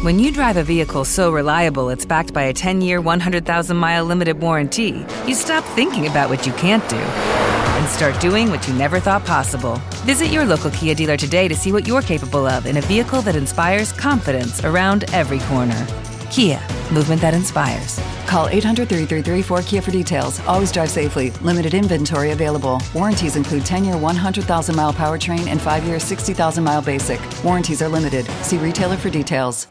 When you drive a vehicle so reliable it's backed by a 10-year, 100,000-mile limited warranty, you stop thinking about what you can't do and start doing what you never thought possible. Visit your local Kia dealer today to see what you're capable of in a vehicle that inspires confidence around every corner. Kia, movement that inspires. Call 800-333-4KIA for details. Always drive safely. Limited inventory available. Warranties include 10-year 100,000-mile powertrain and 5-year 60,000-mile basic. Warranties are limited. See retailer for details.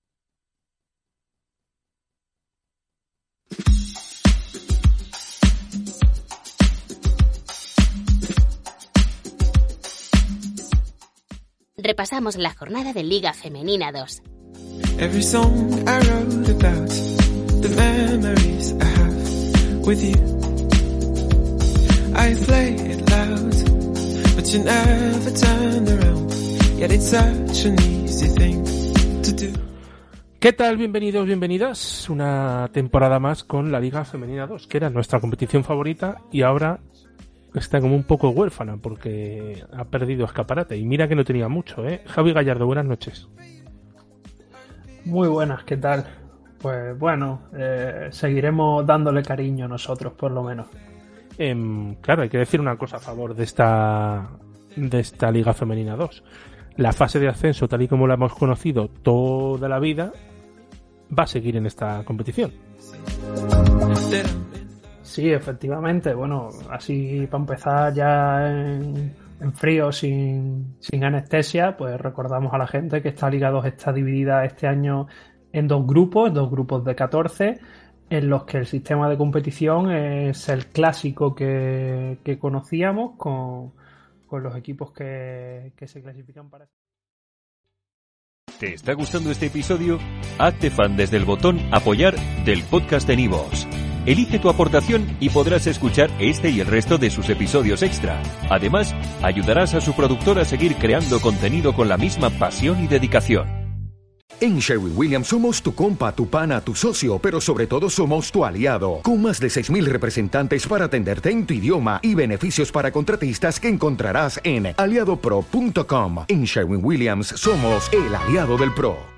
Repasamos la jornada de Liga Femenina 2. Every song I wrote about the memories I have with you. I play it loud, but you never turn around. Yet it's such an easy thing to do. ¿Qué tal? Bienvenidos, bienvenidas. Una temporada más con la Liga Femenina 2, que era nuestra competición favorita y ahora está como un poco huérfana porque ha perdido escaparate. Y mira que no tenía mucho, ¿eh? Javi Gallardo, buenas noches. Muy buenas, ¿qué tal? Pues bueno, seguiremos dándole cariño nosotros, por lo menos. Claro, hay que decir una cosa a favor de esta Liga Femenina 2. La fase de ascenso, tal y como la hemos conocido toda la vida, va a seguir en esta competición. Sí, efectivamente. Bueno, así para empezar ya en frío, sin anestesia, pues recordamos a la gente que esta Liga 2 está dividida este año en dos grupos de 14, en los que el sistema de competición es el clásico que conocíamos con los equipos que se clasifican para... ¿Te está gustando este episodio? Hazte fan desde el botón Apoyar del podcast de Nivos. Elige tu aportación y podrás escuchar este y el resto de sus episodios extra. Además, ayudarás a su productor a seguir creando contenido con la misma pasión y dedicación. En Sherwin-Williams somos tu compa, tu pana, tu socio, pero sobre todo somos tu aliado. Con más de 6,000 representantes para atenderte en tu idioma y beneficios para contratistas que encontrarás en aliadopro.com. En Sherwin-Williams somos el aliado del pro.